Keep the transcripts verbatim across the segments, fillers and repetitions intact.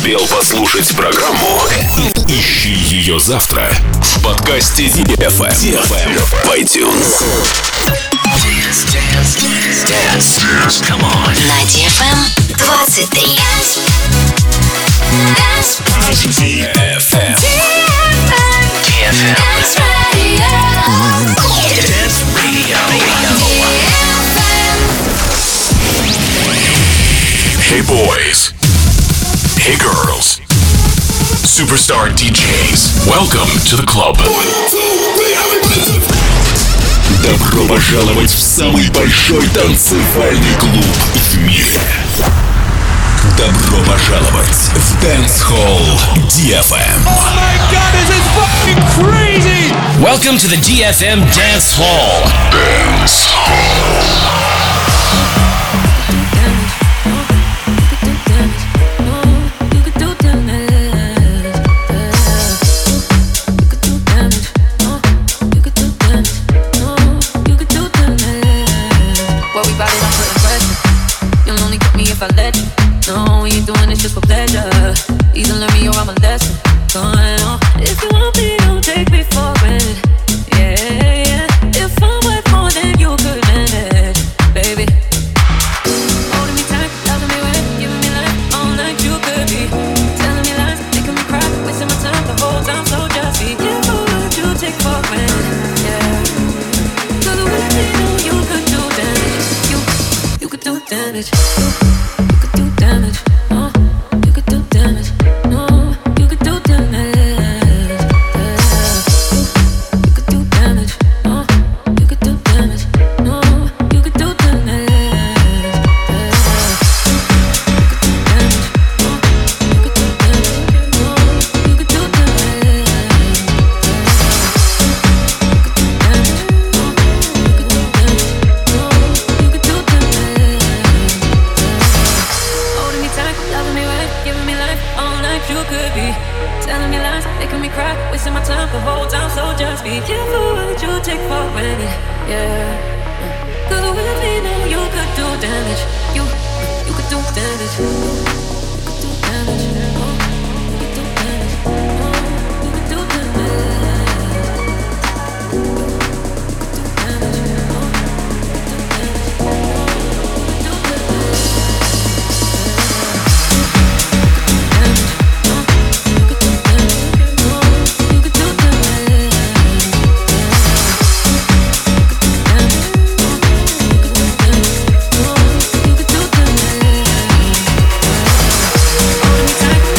успел послушать программу? Ищи ее завтра в подкасте ди эф эм в iTunes. Dance, dance, dance, dance, dance, come on. На ди эф эм двадцать три. ди эф эм. ди эф эм. Dance Radio. Dance Radio. Hey boys. Hey girls. Superstar ди джейс. Welcome to the club. Добро пожаловать в самый большой танцевальный клуб в мире. Добро пожаловать в Dance Hall ди эф эм. Oh my God, this is fucking crazy! Welcome to the ди эф эм Dance Hall. Dance Hall. I let you know we ain't doing this just for pleasure. Either learn me or I'm a lesson. Going on. If you want me, don't take me for granted. Yeah, yeah. If I'm worth more than you could manage, baby. Holding me tight, loving me wet, giving me life all night. You could be telling me lies, making me cry, wasting my time the whole time. So just be careful what you take for granted. Yeah. 'Cause with me, know you could do damage. You, you could do damage. Damage, oh, you could do damage, no, you could do damage, yeah. You could do damage, oh, you could do damage, no, you could do damage, yeah. You could do damage, oh, you could do damage, no, you could do damage, you could do damage, no, you could do damage. Holding me tight, loving me right, giving me life all night. You could be telling me lies, making me cry, wasting my time the whole time. So just be careful what you take for granted, yeah. 'Cause with me now you could do damage. You, you could do damage. You could do damage. Oh, you could do damage. Oh, you could do damage. You could do damage. Oh, you could do damage. You could do damage. Hold me tight.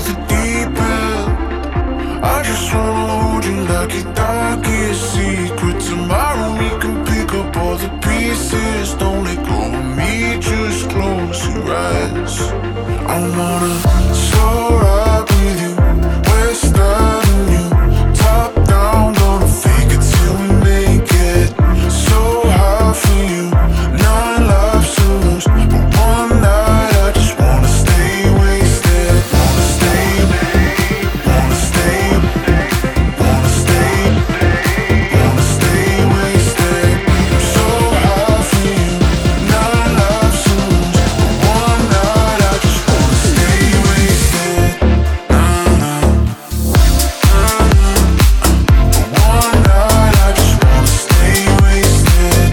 with the deep end. I just wanna hold you like your darkest secret. Tomorrow we can pick up all the pieces. Don't let go of me, just close your eyes. I wanna slow ride with you, west Avenue, top down, gonna fake it till we make it. So high for you, nine lives to lose, but one night I just wanna stay wasted. Wanna stay, wanna stay, wanna stay, wanna stay wasted. So high for you, nine lives to lose, but one night I just wanna stay wasted. Nah, nah. One night I just wanna stay wasted.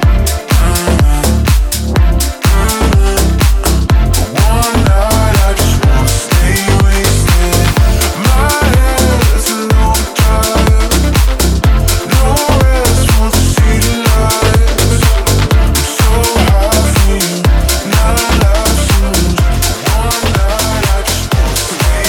One night I just wanna stay wasted. My head's an overdrive. No rest once I see the lights. I'm so high for you. Nine lives to lose. One night I just wanna stay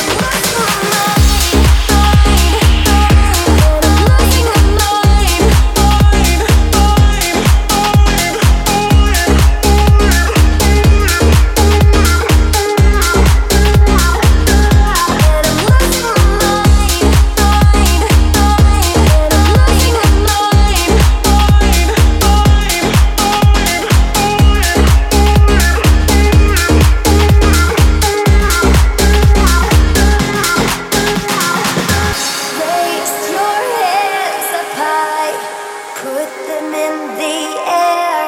Raise your hands up high, put them in the air.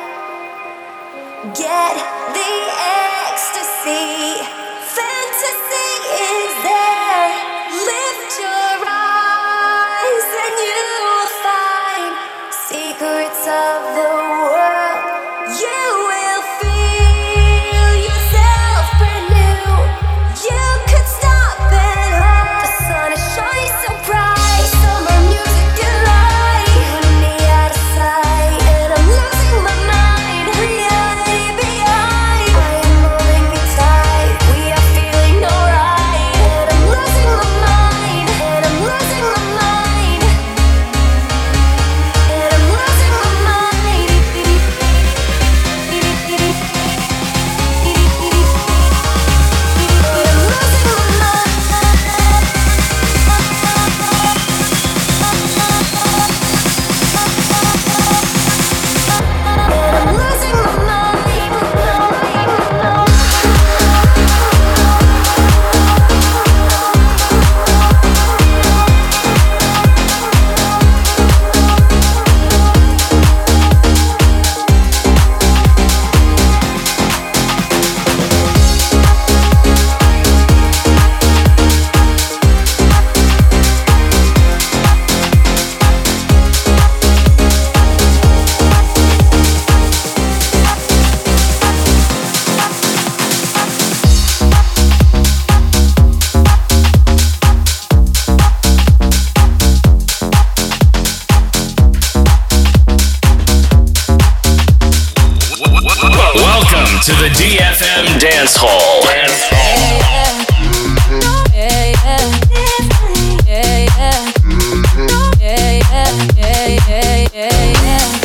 Get the ecstasy, fantasy is there. Lift your eyes and you'll find secrets of the world. You will feel yourself brand new. You could stop at home. The sun is shining so bright. Summer music and light. Putting me out of sight, and I'm losing my mind. Reality behind. I am holding me tight. We are feeling alright, and I'm losing my mind. And I'm losing my mind. And I'm losing my mind. Welcome to the D F M Dance Hall. Dance Hall. Yeah, yeah. Yeah, yeah. Yeah, yeah. Yeah, yeah, yeah, yeah.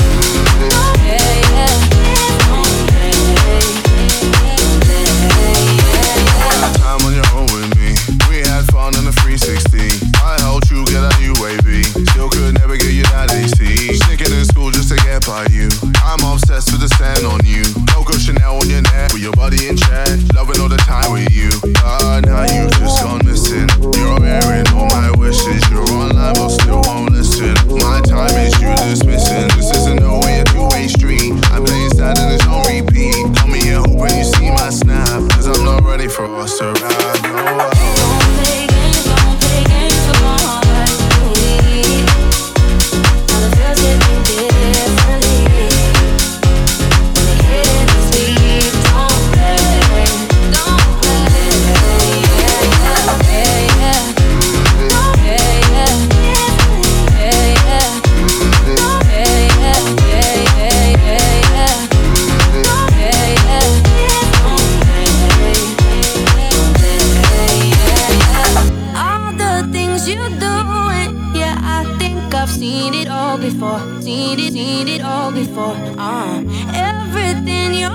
time on your own with me. We had fun on the three sixty. I helped you get a U A V. Still could never get you that A C. Sneaking in school just to get by you. I'm obsessed with the stand on you. Coco Chanel on your neck with your body in check. Loving all the time with you. God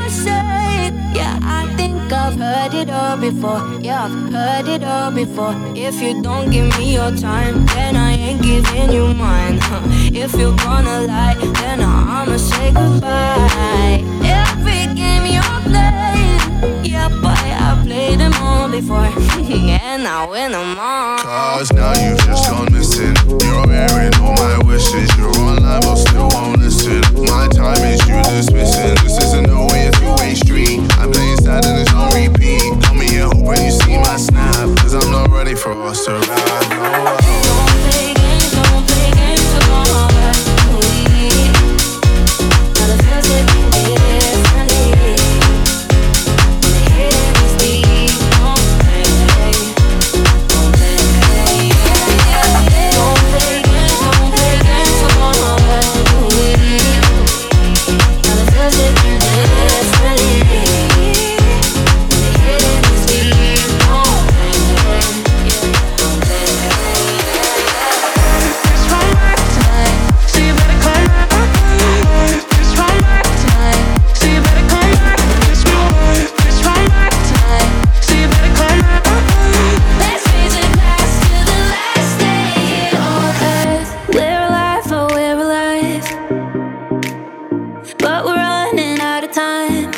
say. Yeah, I think I've heard it all before. Yeah, I've heard it all before. If you don't give me your time, then I ain't giving you mine. Huh. If you're gonna lie, then I'ma say goodbye. Every game you're playing, yeah, boy, I played them all before. And I win them all. Cause now you've just gone missing. You're airing all my wishes. You're online but still won't listen. My time is you dismissing. This isn't no way, a two-way street. I'm playing sad and it's on repeat. Come here hoping you see my snap. Cause I'm not ready for us to ride. No. Don't play games, don't play games, so don't hold back. Now the feels hit me differently. The hidden is deep. Don't play, don't play. Don't play games, don't play games, so don't hold back. Now the feels hit me differently. The hidden is deep. Don't play, don't play. Just one more time, so you better come back. Just one more time, so you better come back. Just one, just one more time, so you better come back. Let's raise a glass to the last day here on earth. We're alive, oh we're alive, but we're running out of time.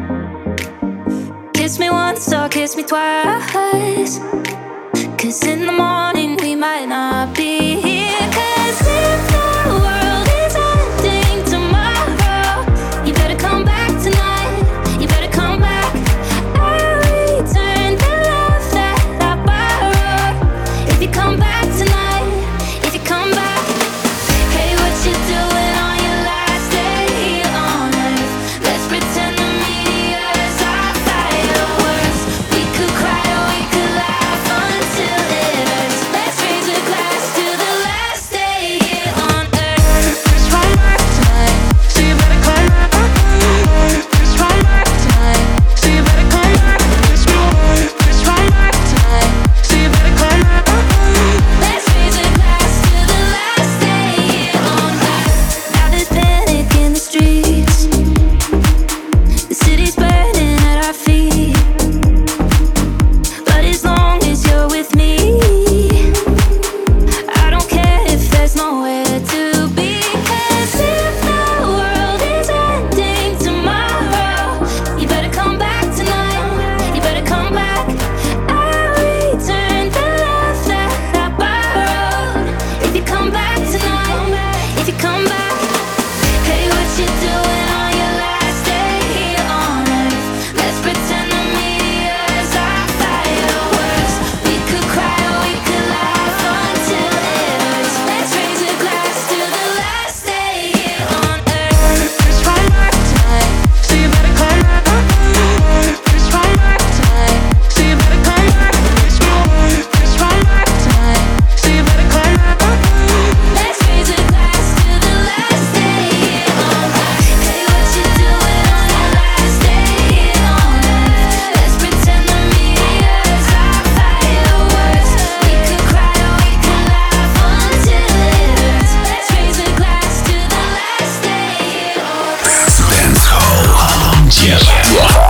Kiss me once or kiss me twice, 'cause in the morning we might not be here. 'Cause if the world is ending tomorrow, you better come back tonight. You better come back. I'll return the love that I borrowed. If you come back tonight, if you come back. Hey, what you doing on your last day here on earth? Let's pretend the meteors are fireworks. We could cry or we could laugh until it hurts. Let's raise a glass to the last day here on earth. Just one more time, so you better come back. Just one more time, so you better come back. Just one, just one more time, so you better come back. Let's raise a glass to the last day here on earth. Now there's panic in the streets. The city's burning at our feet. But as long as you're with me, I don't care if there's nowhere to be. 'Cause if the world is ending tomorrow, you better come back tonight. You better come back. I'll return the love that I borrowed. If you come back tonight, if you come back. Hey, what you doing on your last day here on earth? Let's pretend the meteors are fireworks. We could cry or we could laugh until it hurts. Let's raise a glass to the last day here on earth. Just one more time, so you better come back. Just one more time, so you better come back. Just one, just one more time, so you better come back. Let's raise a glass to the last day here on earth. Hey, what you doing on your last day here on earth? Let's pretend the meteors are fireworks. We could cry or we could laugh until it hurts. Let's raise a glass to the last day here on earth. Dance Hall. Yeah.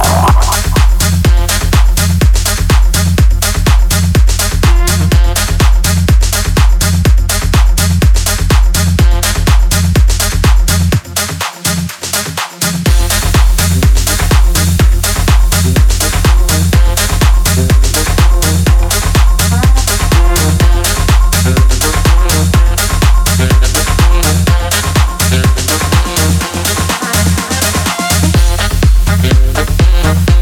We'll be right back.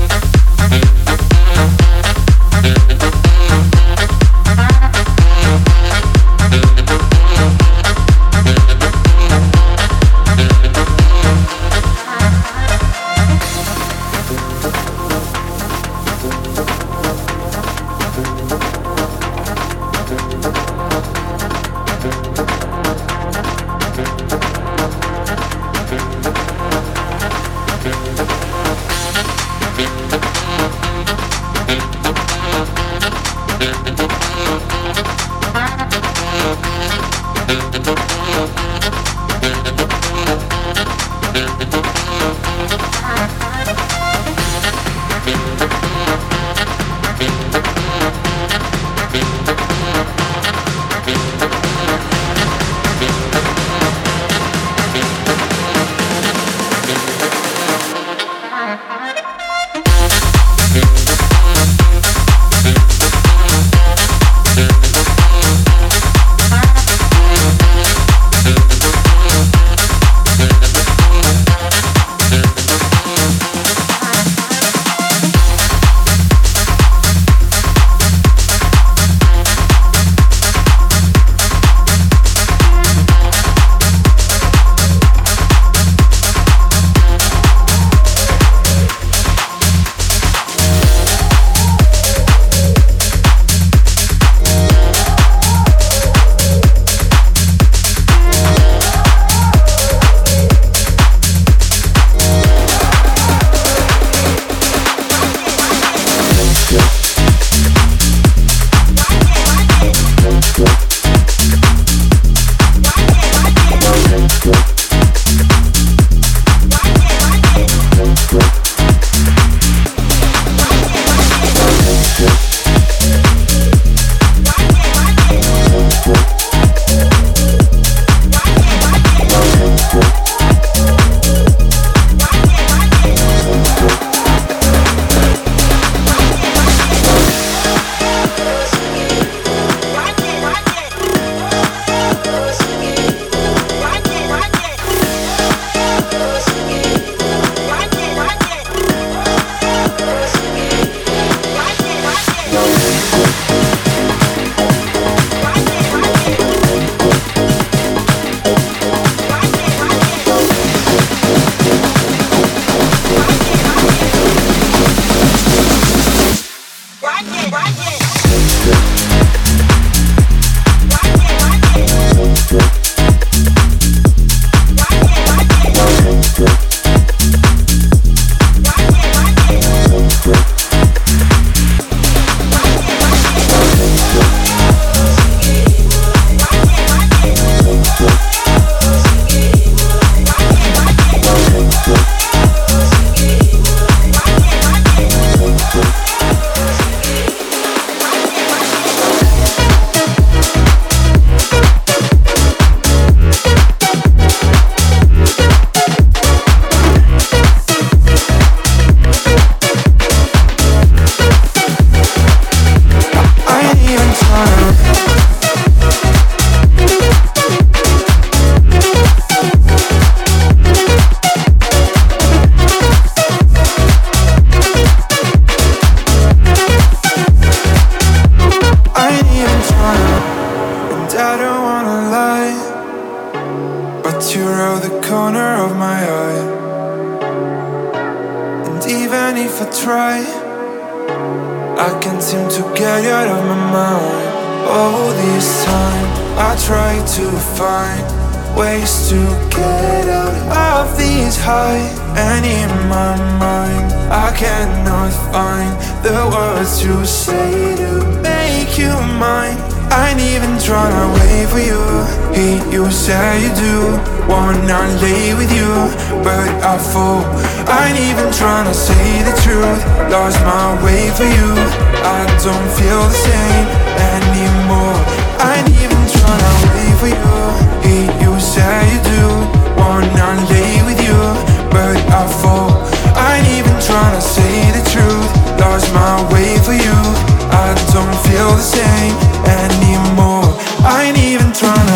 even if I try, I can't seem to get you out of my mind. All this time I try to find ways to get out of this high, and in my mind I cannot find the words to say to make you mine. I ain't even tryna wait for you. Hey, you say you do wanna lay with you, but I fall. I ain't even tryna say the truth. Lost my way for you. I don't feel the same anymore. I ain't even tryna wait for you. Hey, you say you do wanna lay with you, but I fall. I ain't even tryna say the truth. Lost my way for you. I don't feel the same anymore. I ain't even tryna.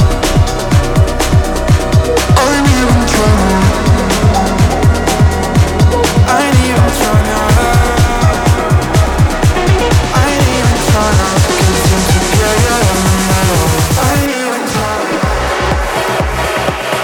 I ain't even tryna. I ain't even tryna. I ain't even tryna. Cause I'm together. I ain't even tryna.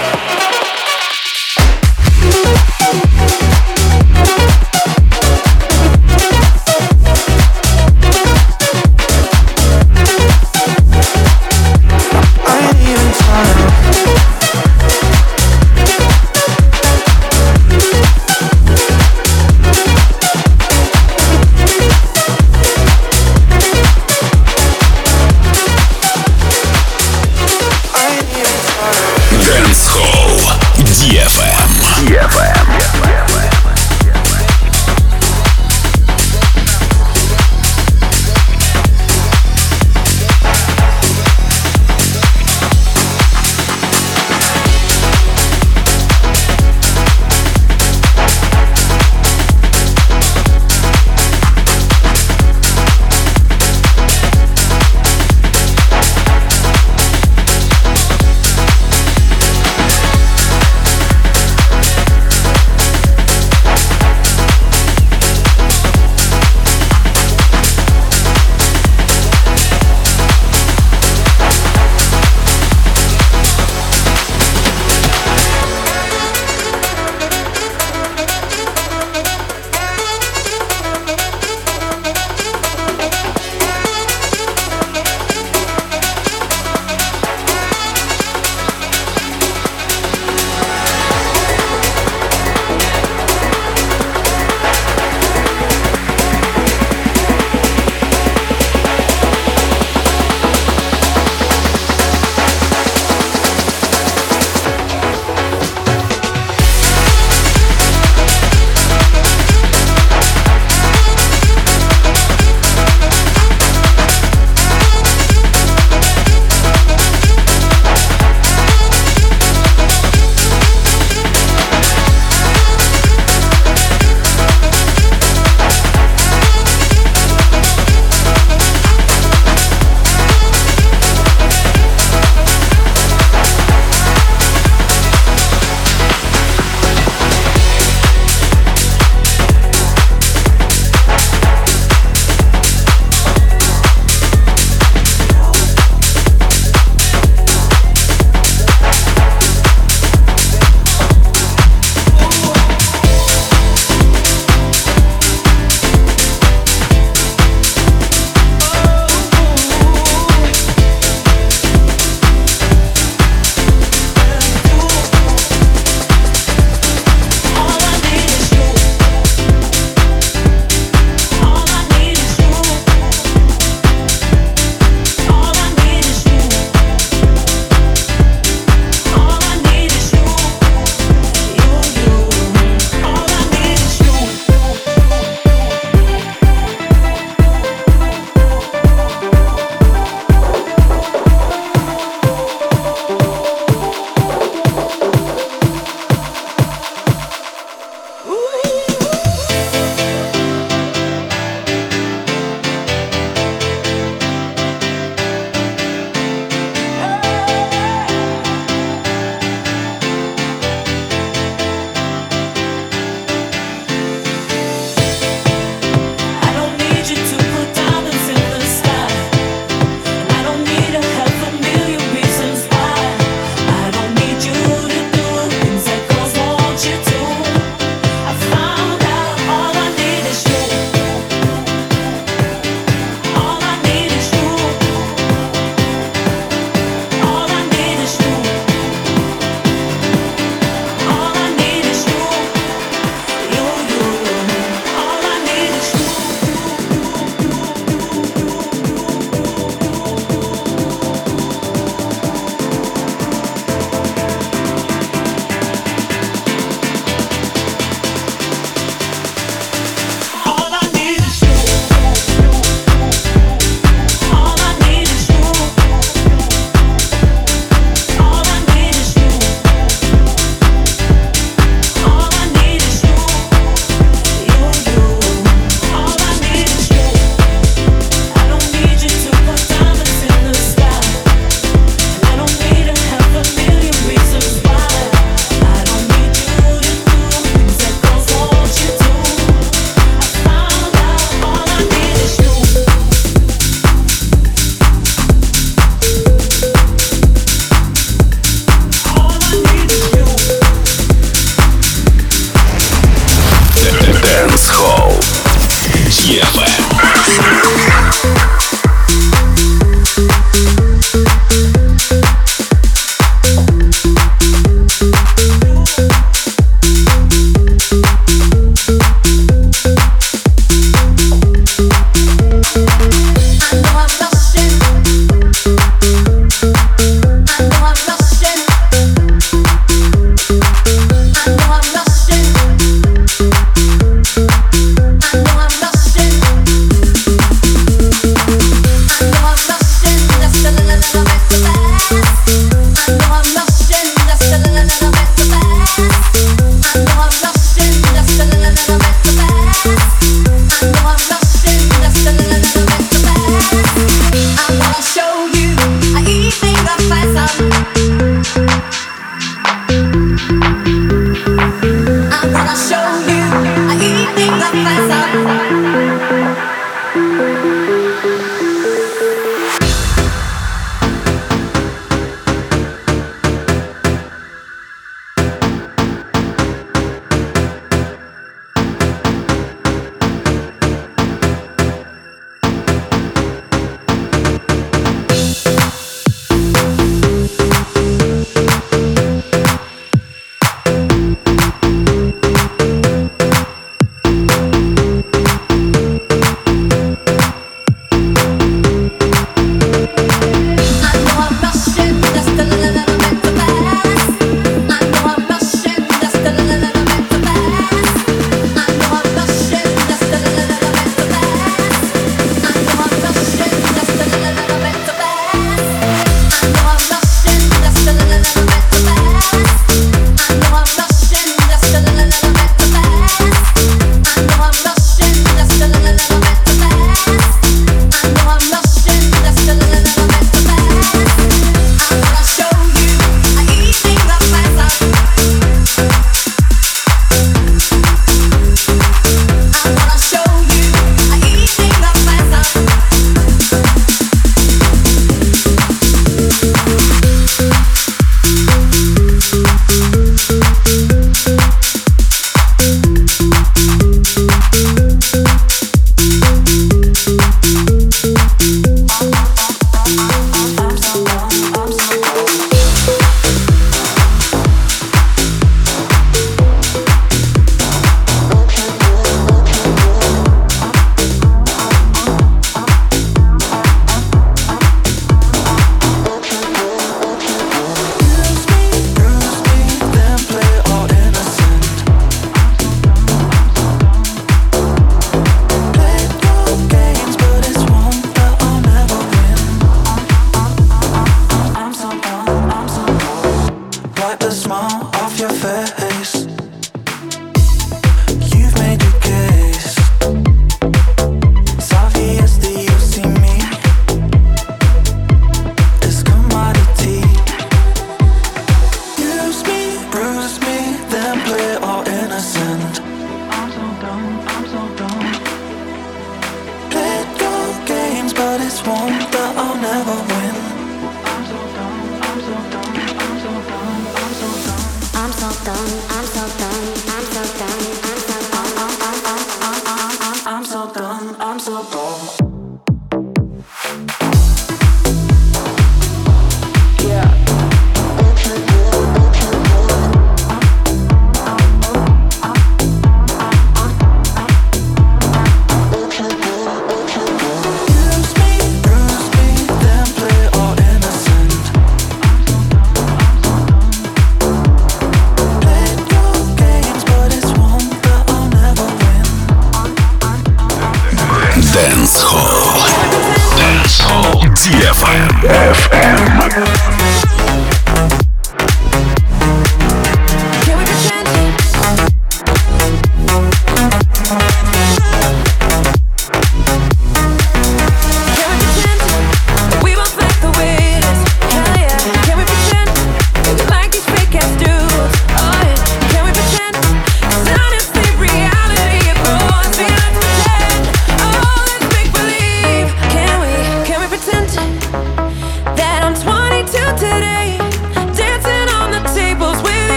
That I'm twenty-two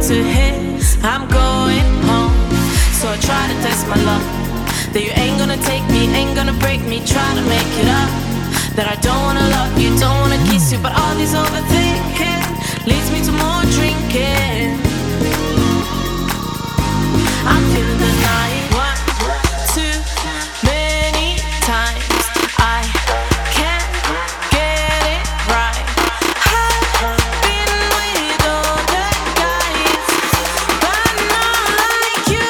to hit, I'm going home. So I try to test my luck, that you ain't gonna take me, ain't gonna break me. Try to make it up, that I don't wanna love you, don't wanna kiss you. But all this overthinking leads me to more drinking. I'm feeling the night. One, too many times I can't get it right. I've been with other guys, but not like you.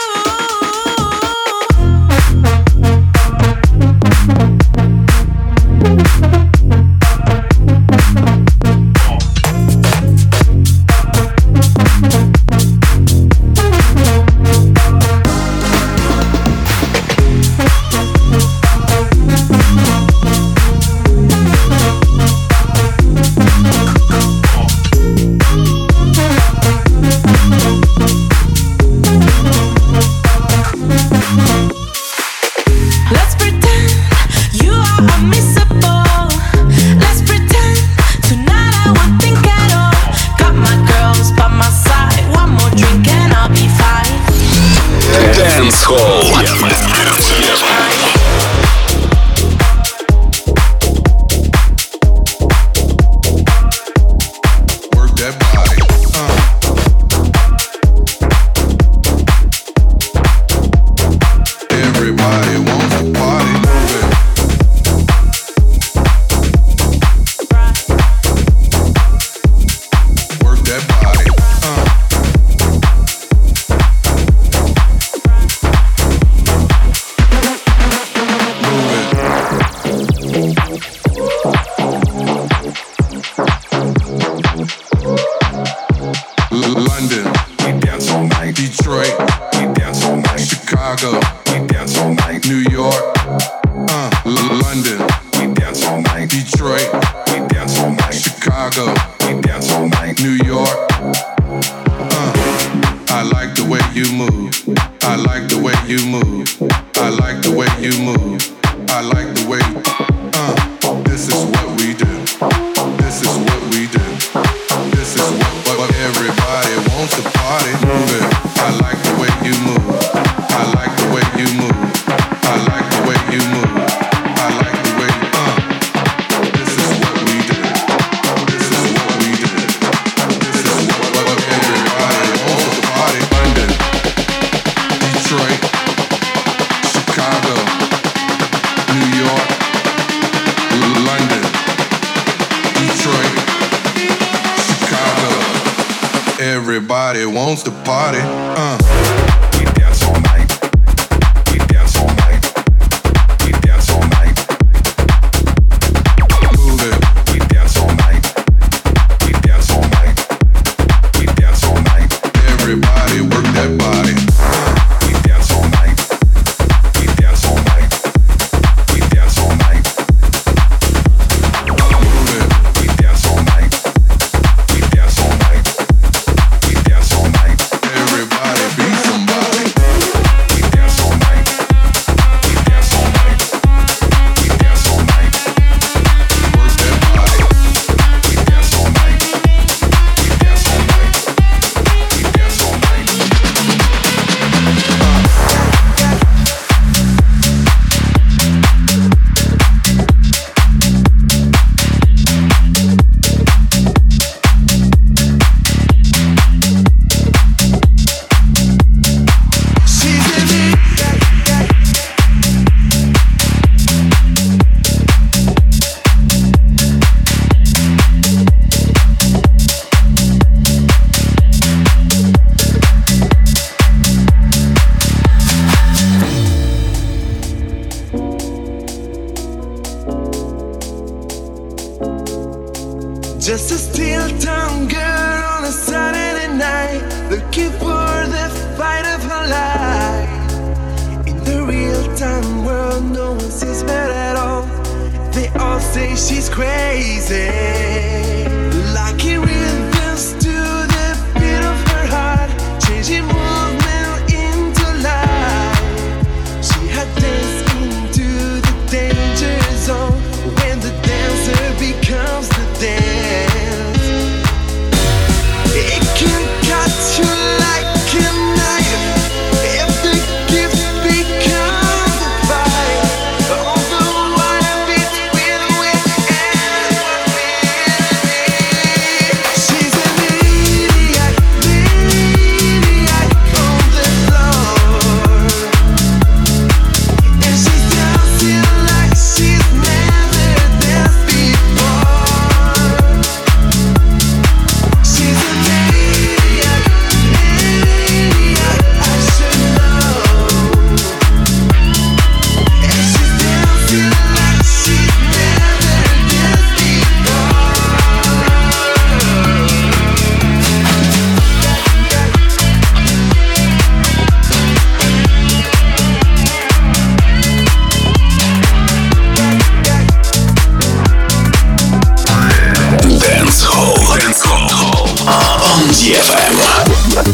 Let's pretend you are unmissable. Let's pretend tonight I won't think at all. Got my girls by my side. One more drink and I'll be fine. Dance Hall. Work that body. Uh. Everybody wants to party. Move it. Work that body. Uh. Move it. L- London, we dance all night. Detroit, we dance all night. Chicago, we dance all night. New York, uh, L- London, we dance all night. Detroit, we dance all night. Chicago, we dance all night. New York, uh, I like the way you move. I like the way you move. I like the way you move. I like the way, uh, this is what we do. This is what we do. This is what, what, what everybody wants to party. Move it. I like the way you move. I like the way you move. I like the way you move. I like the way, uh. This is what we do. This is what we do. This is what, what, what everybody wants to party. London, Detroit, Chicago, New York, London, Detroit, Chicago. Everybody wants to party. Uh. We dance all night. We dance all night. We dance all night. Move it. We dance all night. We dance all night. We dance all night. Everybody work that body. We dance all night. We dance all night. We dance all night. Move it. We dance all night. We dance all night. We dance all night. Everybody be somebody. We dance all night. We dance all night. We dance all night. Work that body. We dance all night. We dance all night. We dance all night. Just a steel tongue girl on a Saturday night, looking for the fight of her life. In the real-time world, no one sees her at all. They all say she's crazy. Lucky rhythms to the beat of her heart, changing movement into life. She had danced into the danger zone when the dancer becomes the dance. It can cut you ди эф эм.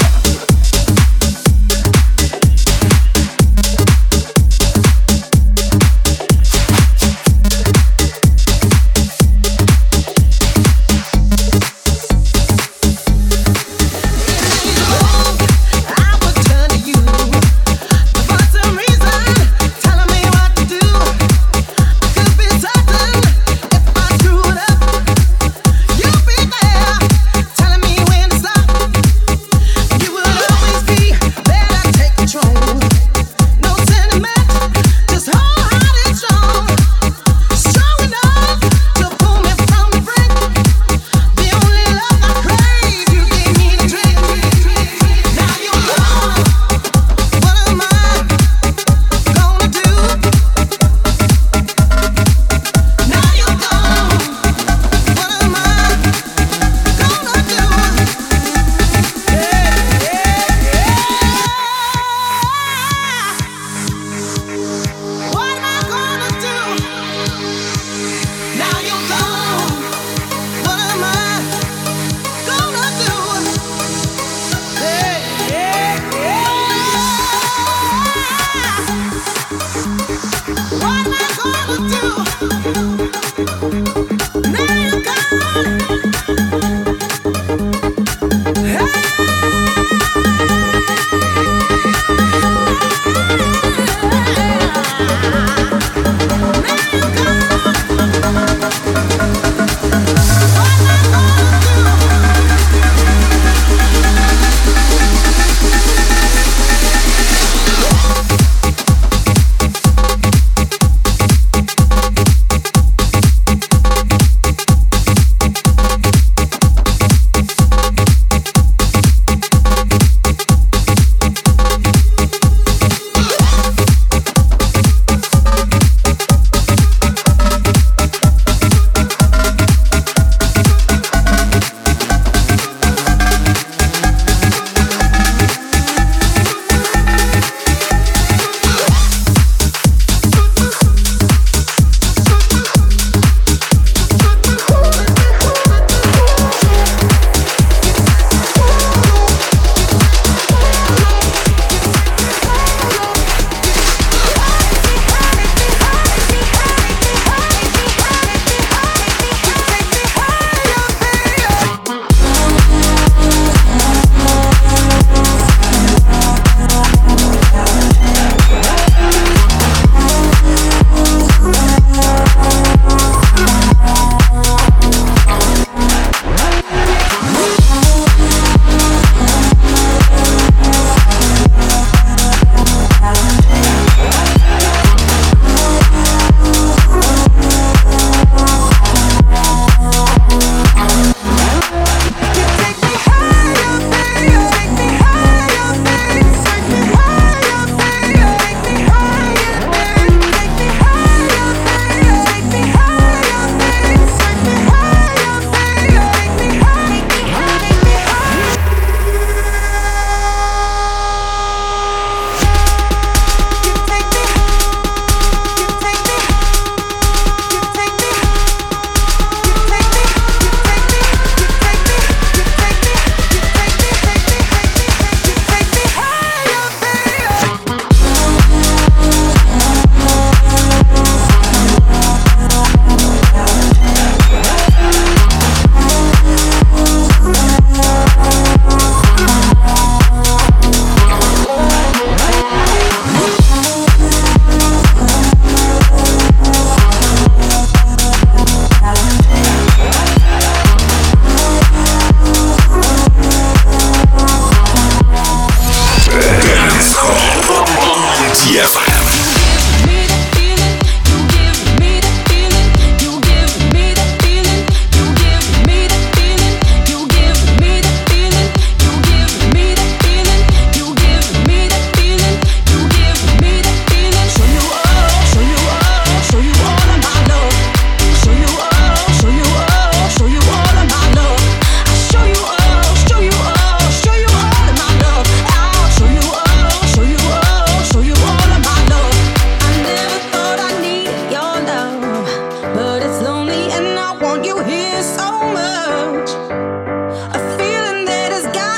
want you here so much. A feeling that has got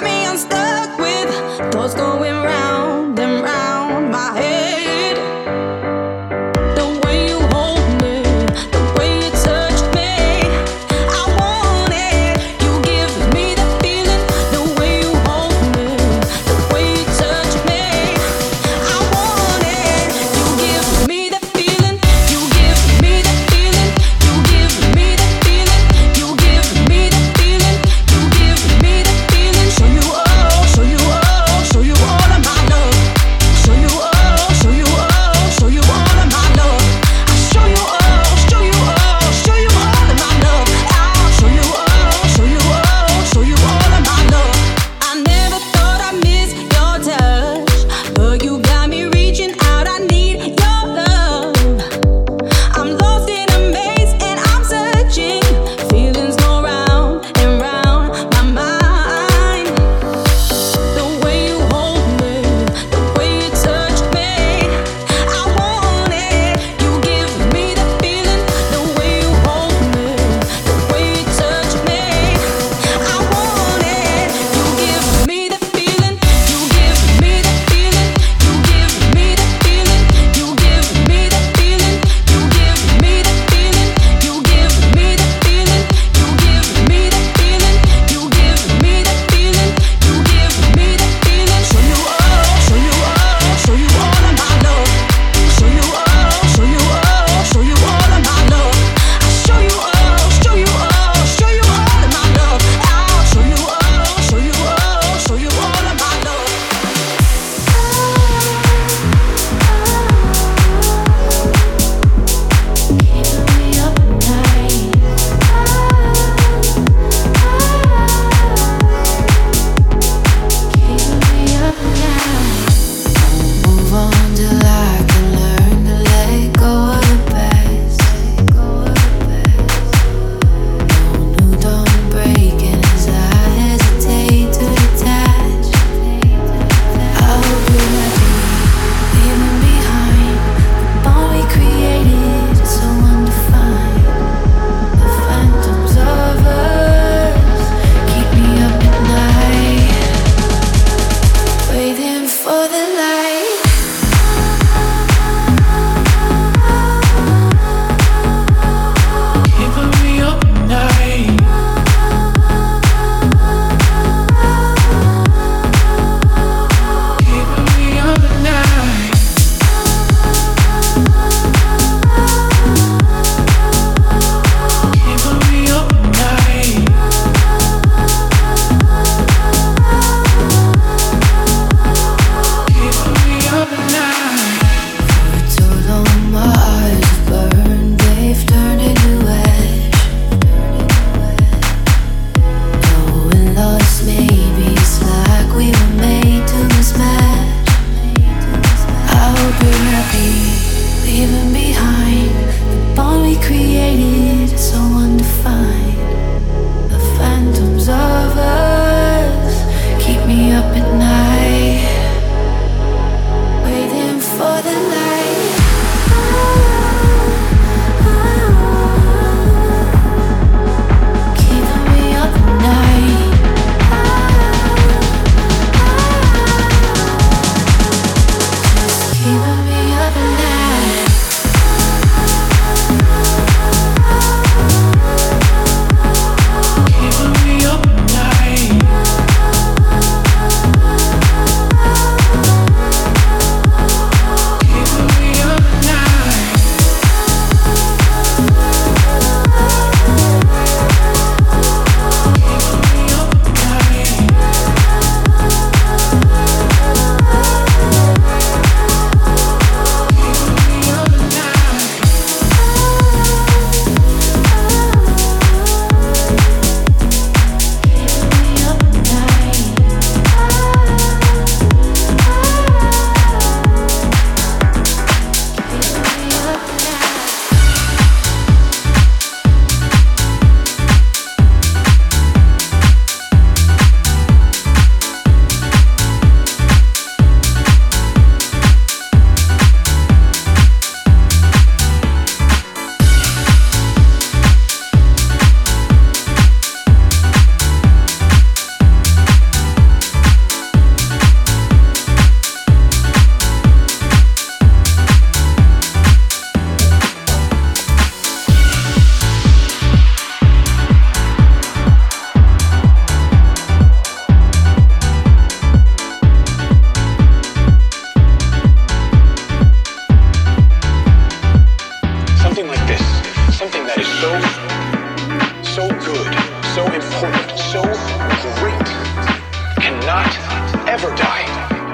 so important, so great, cannot ever die.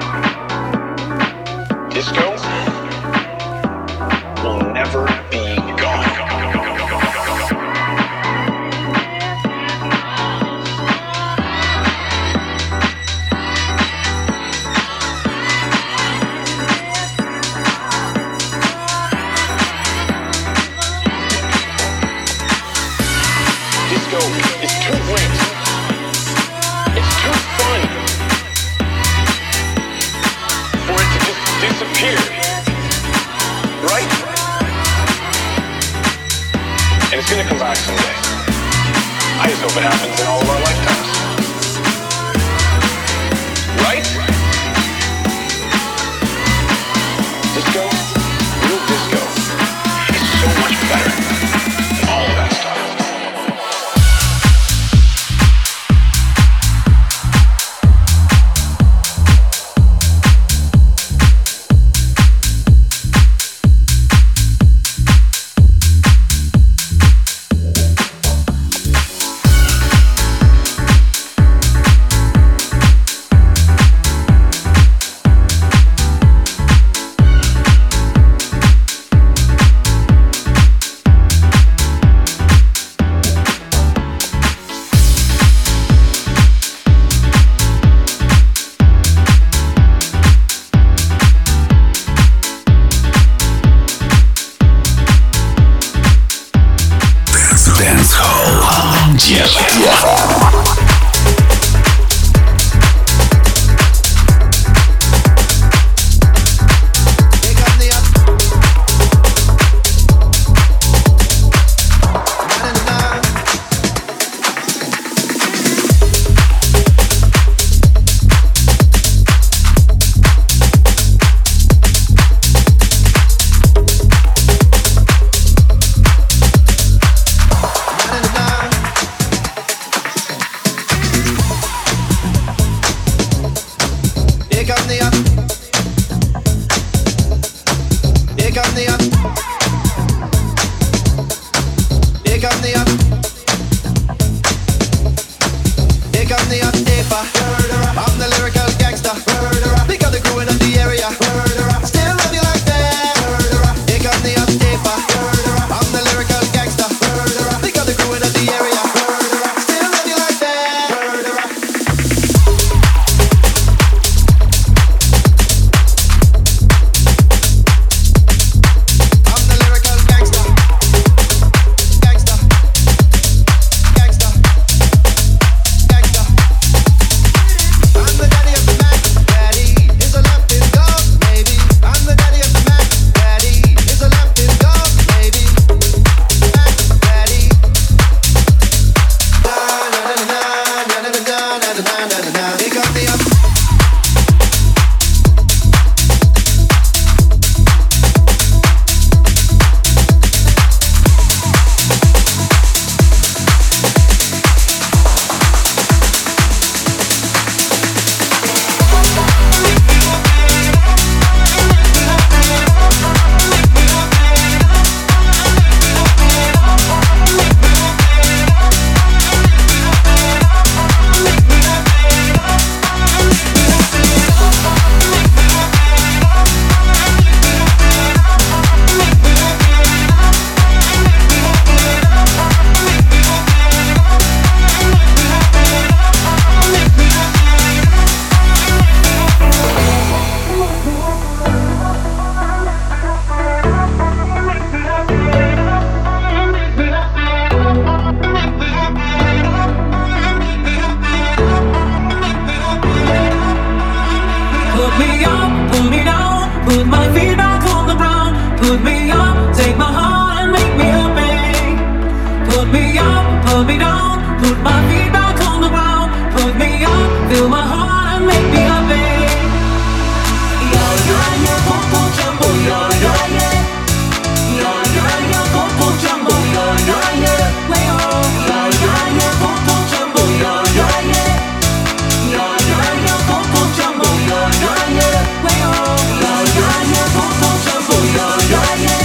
Disco will never be gone. Disco is too great. It's too fun for it to just disappear. Right? And it's gonna come back someday. I just hope it happens in all of our lifetimes. Right? Disco, real disco, is so much better than all of that stuff.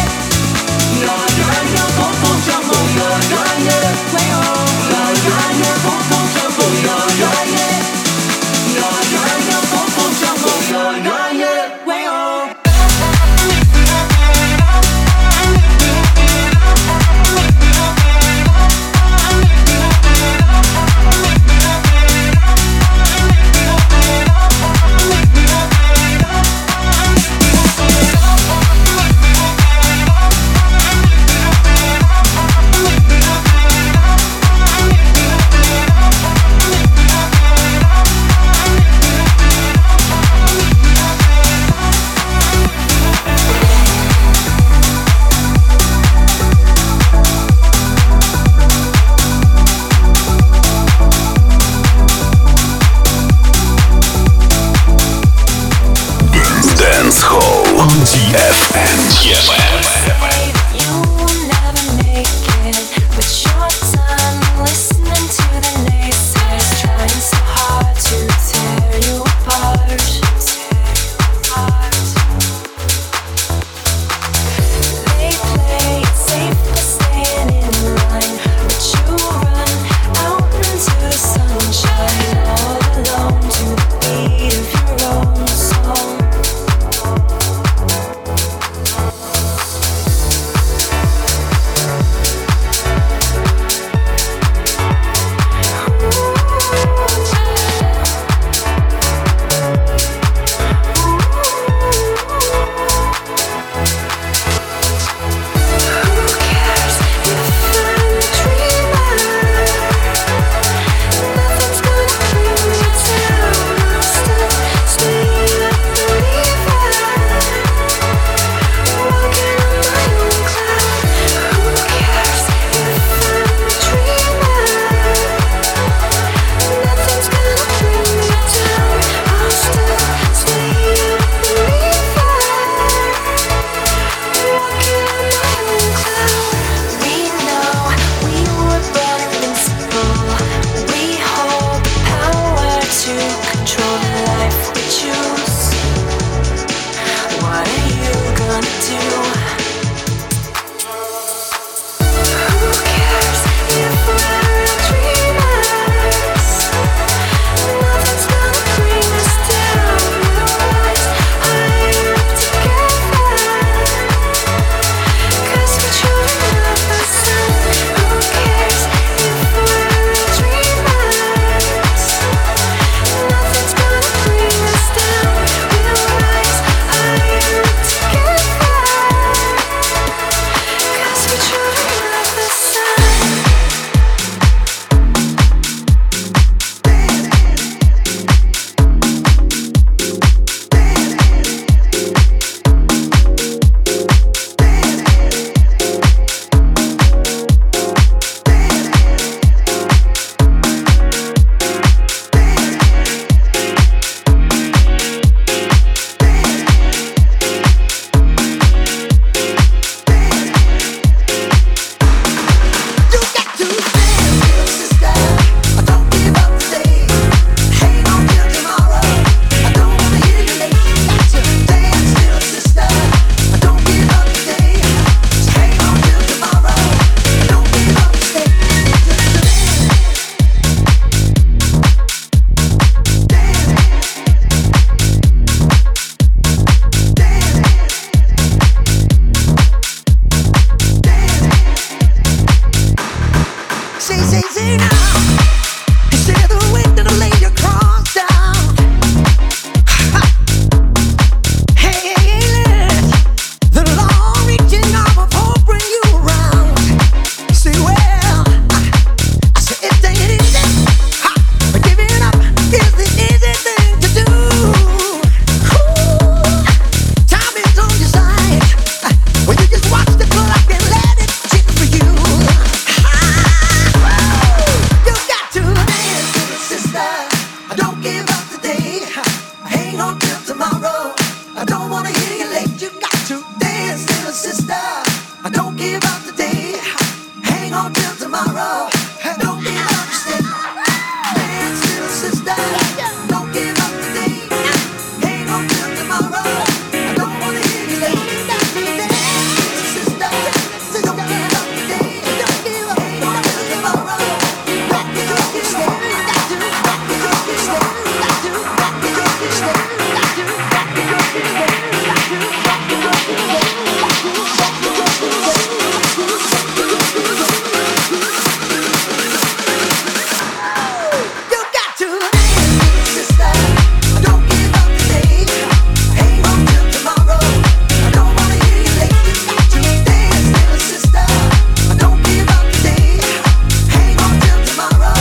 Way on, way now. Instead of waiting to lay your